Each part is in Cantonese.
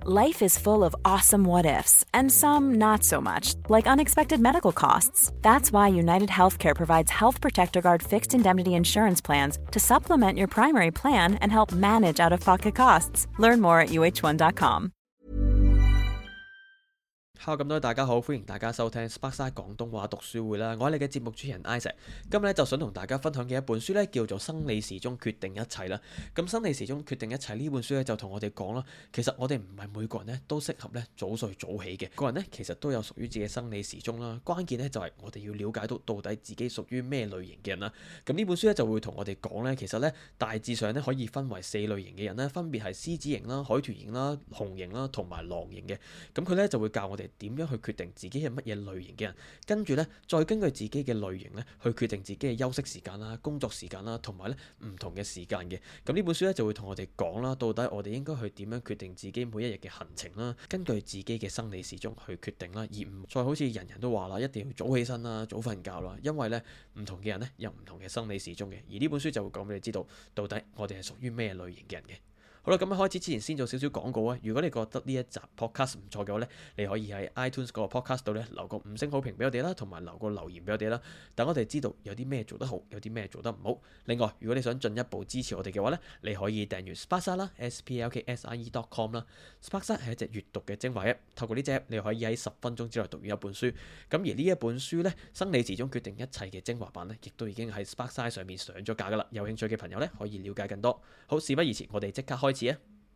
Life is full of awesome what ifs, and some not so much, like unexpected medical costs. That's why United Healthcare provides Health Protector Guard fixed indemnity insurance plans to supplement your primary plan and help manage out-of-pocket costs. Learn more at uh1.com. Hello 咁多位大家好，歡迎大家收聽 Sparkside 廣東話讀書會啦。我係你嘅節目主持人 Isaac， 今日咧就想同大家分享嘅一本書咧叫做《生理時鐘決定一切》啦。咁《生理時鐘決定一切》呢本書咧就同我哋講啦，其實我哋唔係每個人咧都適合咧早睡早起嘅，個人咧其實都有屬於自己嘅生理時鐘啦。關鍵咧就係我哋要了解到底自己屬於咩類型嘅人啦。咁呢本書咧就會同我哋講咧，其實咧大致上咧可以分為4類型嘅人咧，分別係獅子型啦、海豚型啦、熊型啦同埋狼型嘅。咁佢咧就會教我哋點樣去決定自己係乜嘢類型嘅人，跟住咧再根據自己嘅類型咧去決定自己嘅休息時間啦、工作時間啦，同埋咧唔同嘅時間嘅。咁呢本書咧就會同我哋講啦，到底我哋應該去點樣決定自己每一日嘅行程啦，根據自己嘅生理時鐘去決定啦，而唔再好似人人都話啦，一定要早起身啦、早瞓覺啦，因為咧唔同嘅人咧有唔同嘅生理時鐘嘅。而呢本書就會講俾你知道，到底我哋係屬於咩類型嘅人嘅。好啦，咁開始之前先做少少廣告啊！如果你覺得呢一集 podcast 唔錯嘅話咧，你可以喺 iTunes 嗰個 podcast 度咧留個5星好評俾我哋啦，同埋留個留言俾我哋啦，等我哋知道有啲咩做得好，有啲咩做得唔好。另外，如果你想進一步支持我哋嘅話咧，你可以訂閱 Sparkside 啦 ，sparkside.com 啦。Sparkside 係一隻閱讀嘅精華 app， 透過呢隻 app 你可以喺10分鐘之內讀完一本書。咁而呢一本書咧，生理時鐘決定一切嘅精華版咧，亦都已經喺 Sparkside 上面上咗架噶啦。有興趣嘅朋友咧，可以了解更多。好，事不宜遲，我哋即刻開始啊！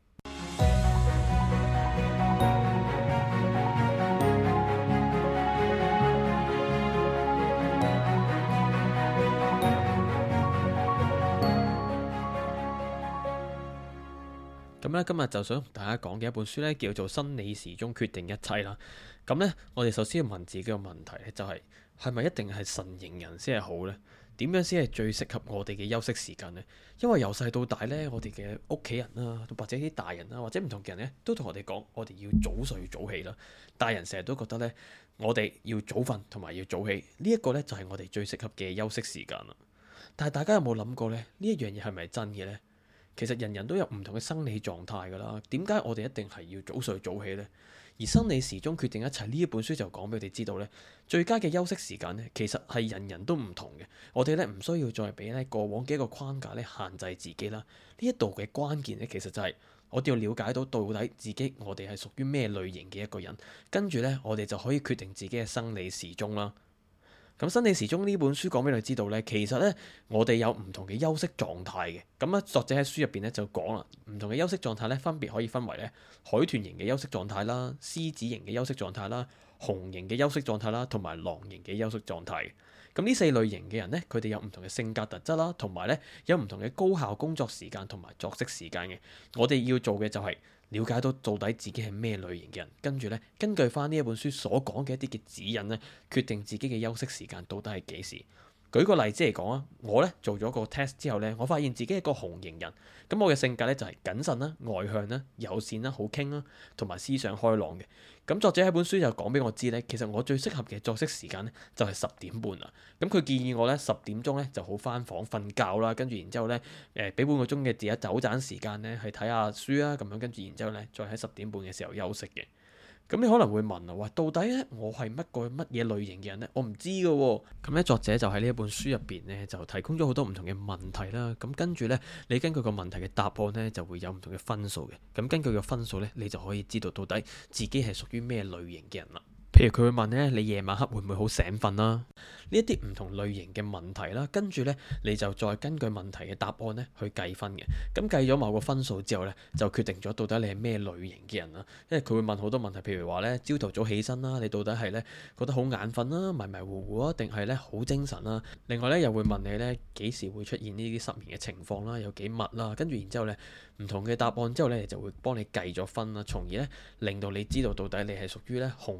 咁咧今日就想同大家講嘅一本書咧，叫做《生理時鐘決定一切》啦。咁咧，我哋首先要問自己個問題咧，就係咪一定係晨型人先係好呢？點樣先係最適合我哋嘅休息時間呢？因為由細到大咧，我哋嘅屋企人啦，或者啲大人啦，或者唔同嘅人咧，都同我哋講，我哋要早睡早起啦。大人成日都覺得咧，我哋要早瞓同埋要早起，呢一個咧就係我哋最適合嘅休息時間啦。但係大家有冇諗過咧？呢一樣嘢係咪真嘅呢？其實人人都有唔同嘅生理狀態㗎啦，點解我哋一定係要早睡早起呢？而生理時鐘決定一切呢一本書就講俾我哋知道呢，最佳嘅休息時間呢，其實係人人都唔同嘅。我哋咧唔需要再俾咧過往嘅一個框架咧限制自己啦。呢一度嘅關鍵咧，其實就係我哋要了解到底自己我哋係屬於咩類型嘅一個人，跟住咧我哋就可以決定自己嘅生理時鐘啦。咁生理時鐘呢本書講俾你知道咧，其實咧我哋有唔同嘅休息狀態嘅。咁啊，作者喺書入邊咧就講啦，唔同嘅休息狀態咧分別可以分為咧海豚型嘅休息狀態啦、獅子型嘅休息狀態啦、熊型嘅休息狀態啦，同埋狼型嘅休息狀態。咁呢4類型嘅人咧，佢哋有唔同嘅性格特質啦，同埋咧有唔同嘅高效工作時間同埋作息時間嘅。我哋要做嘅就係了解到底自己係咩類型嘅人，跟住咧根據翻呢一本書所講嘅一啲嘅指引咧，決定自己嘅休息時間到底係幾時。舉個例子嚟講啊，我咧做咗個 test 之後咧，我發現自己係個熊型人。咁我嘅性格咧就係謹慎啦、外向啦、友善啦、好傾啦，同埋思想開朗嘅。咁作者喺本書就講俾我知咧，其實我最適合嘅作息時間咧就係10點半啦。咁佢建議我咧10點鐘咧就好返房瞓覺啦，跟住然之後咧俾半個鐘嘅自己走盞時間咧去睇下書啦，咁樣跟住然之後咧再喺10點半嘅時候休息嘅。咁你可能會問啊，話到底咧我係乜嘢類型嘅人呢？我唔知㗎喎。咁咧作者就喺呢一本書入邊咧就提供咗好多唔同嘅問題啦。咁跟住咧你根據個問題嘅答案咧就會有唔同嘅分數嘅。咁根據個分數咧你就可以知道到底自己係屬於咩類型嘅人啦。譬如佢會問咧，你夜晚黑會唔會好醒瞓啦？呢一啲唔同類型嘅問題啦，跟住咧你就再根據問題嘅答案咧去計分嘅。咁計咗某個分數之後咧，就決定咗到底你係咩類型嘅人啦。因為佢會問好多問題，譬如話咧，朝頭早起身啦，你到底係咧覺得好眼瞓啦、迷迷糊糊啊，定係咧好精神啦？另外咧又會問你咧幾時會出現呢啲失眠嘅情況啦，有幾密啦？跟住然之後咧唔同嘅答案之後咧就會幫你計咗分啦，從而咧令到你知道到底你係屬於咧熊型啊、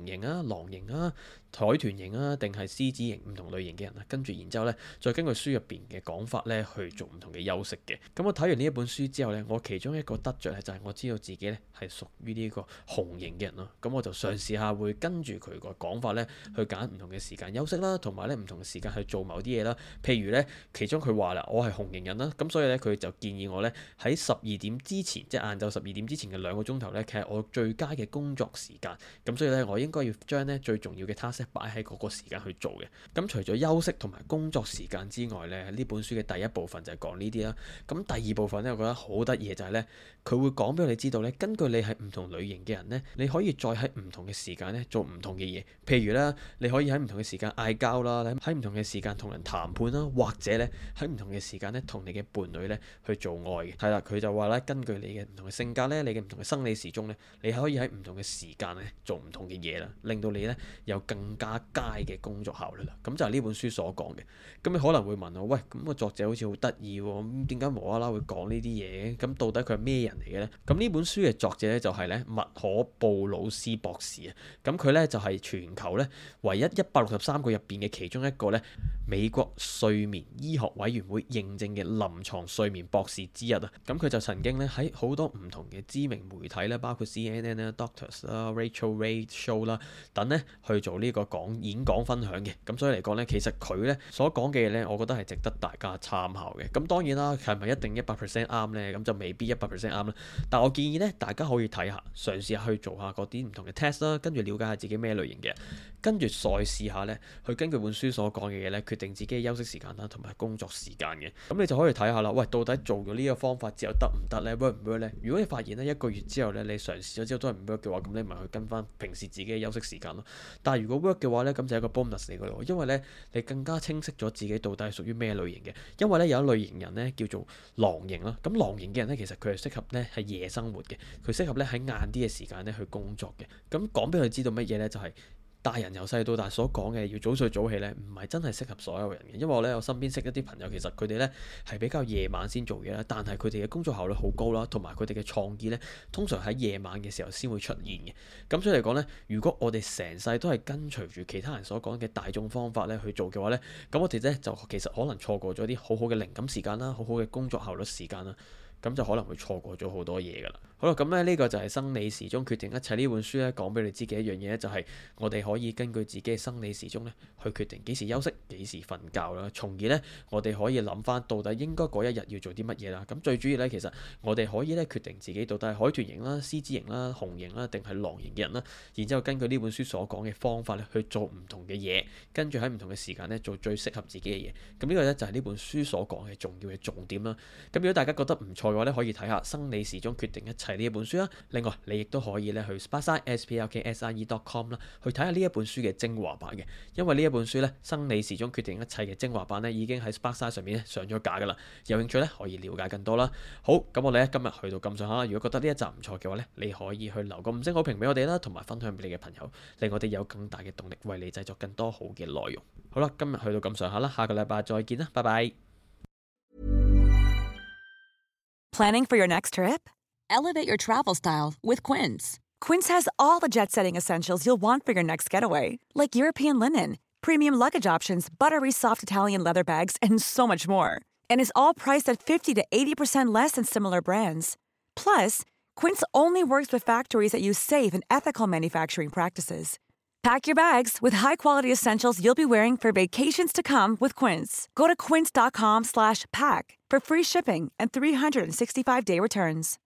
狼型啊、海豚型啊，定係獅子型唔同類型嘅人啊。跟住然之後咧，再根據書入邊嘅講法咧去做唔同嘅休息嘅。咁我睇完呢一本書之後咧，我其中一個得着咧就係我知道自己咧係屬於呢個熊型嘅人咯。咁我就嘗試下會跟住佢個講法咧去揀唔同嘅時間休息啦，同埋咧唔同嘅時間去做某啲嘢啦。譬如咧，其中佢話啦，我係熊型人啦，咁所以咧佢就建議我咧喺12點之前，即係晏晝12點之前嘅2個鐘頭咧，其實我最佳嘅工作時間。咁所以咧，我應該要將咧最重要嘅 task 擺喺嗰個時間去做嘅。咁除咗休息同埋工作時間之外咧，呢本書嘅第一部分就係講呢啲啦。咁第二部分咧，我覺得好得意嘅就係咧，佢會講俾我哋知道咧，根據你係唔同類型嘅人咧，你可以再喺唔同嘅時間咧做唔同嘅嘢。譬如咧，你可以喺唔同嘅時間嗌交啦，喺唔同嘅時間同人談判啦，或者咧喺唔同嘅時間咧同你嘅伴侶咧去做愛嘅。係啦，佢就話咧，根據你嘅唔同嘅性格咧，你嘅唔同嘅生理時鐘咧，你可以喺唔同嘅時間咧做唔同嘅嘢啦，令到你咧有更加佳嘅工作效率啦。咁就係呢本書所講嘅。咁你可能會問我，喂，咁個作者好似好得意喎，咁點解無啦啦會講呢啲嘢？咁到底佢係咩人嚟嘅咧？咁呢本書嘅作者咧就係咧麥可布魯斯博士啊。咁佢咧就係全球咧唯一163個入邊嘅其中一個咧美國睡眠醫學委員會認證嘅臨床睡眠博士之一啊。咁佢就曾經咧喺好多唔同嘅知名媒體咧，包括 CNN 啦、Doctors 啦、Rachel Ray Show 啦等咧去做呢個演講分享嘅。咁所以嚟講咧，其實佢咧所講嘅嘢咧，我覺得係值得大家參考嘅。咁當然啦，係咪一定100% 啱咧？咁就未必100% 啱啦。但我建議咧，大家可以睇下，嘗試下去做下嗰啲唔同嘅 test 啦，跟住了解下自己咩類型嘅，跟住再試下咧，去根據本書所講嘅嘢咧，決定自己嘅休息時間啦，同埋工作時間嘅。咁你就可以睇下啦，喂，到底做咗呢個方法之後得唔得咧 ？work 唔 work 咧？如果你發現咧1個月之後咧，你嘗試咗之後都係唔 work 嘅話，咁你咪去跟翻平時自己嘅休息時間咯。但係如果 work 嘅話咧，咁就係一個 bonus 嚟嘅咯，因為咧你更加清晰咗自己到底係屬於咩類型嘅。因為咧有一類型人咧叫做狼型啦，咁狼型嘅人咧其實佢係適合咧係夜生活嘅，佢適合咧喺晏啲嘅時間咧去工作嘅。咁講俾佢知道乜嘢咧，就係大人由細到大所講嘅要早睡早起咧，唔係真係適合所有人嘅。因為我身邊識一啲朋友，其實佢哋咧係比較夜晚先做嘢啦，但係佢哋嘅工作效率好高啦，同埋佢哋嘅創意咧，通常喺夜晚嘅時候先會出現嘅。咁所以嚟講咧，如果我哋成世都係跟隨住其他人所講嘅大眾方法咧去做嘅話咧，咁我哋咧就其實可能錯過咗啲好好嘅靈感時間啦，好好嘅工作效率時間啦。咁就可能會錯過咗好多嘢㗎啦。好啦，咁咧呢個就係生理時鐘決定一切呢本書咧講俾你知嘅一樣嘢咧，就係我哋可以根據自己嘅生理時鐘咧去決定幾時休息、幾時瞓覺啦，從而咧我哋可以諗翻到底應該嗰一日要做啲乜嘢啦。咁最主要咧，其實我哋可以咧決定自己到底係海豚型啦、獅子型啦、熊型啦，定係狼型嘅人啦。然之後根據呢本書所講嘅方法咧去做唔同嘅嘢，跟住喺唔同嘅時間咧做最適合自己嘅嘢。咁呢個咧就係呢本書所講嘅重要嘅重點啦。咁如果大家覺得唔錯嘅話咧，可以睇下《生理時鐘決定一切》呢一本書啦。另外，你亦都可以咧去 sparkside.com 啦，去睇下呢一本書嘅精華版嘅。因為呢一本書咧《生理時鐘決定一切》嘅精華版咧已經喺 Sparkside 上面咧上咗架噶啦。有興趣咧可以了解更多啦。好，咁我哋咧今日去到咁上下啦。如果覺得呢一集唔錯嘅話咧，你可以去留個5星好評俾我哋啦，同埋分享俾你嘅朋友，令我哋有更大嘅動力為你製作更多好嘅內容。好啦，今日去到咁上下啦，下個禮拜再見啦，拜拜。 Planning for your next trip? Elevate your travel style with Quince. Quince has all the jet-setting essentials you'll want for your next getaway, like European linen, premium luggage options, buttery soft Italian leather bags, and so much more. And is all priced at 50 to 80% less than similar brands. Plus, Quince only works with factories that use safe and ethical manufacturing practices. Pack your bags with high-quality essentials you'll be wearing for vacations to come with Quince. Go to quince.com/pack for free shipping and 365-day returns.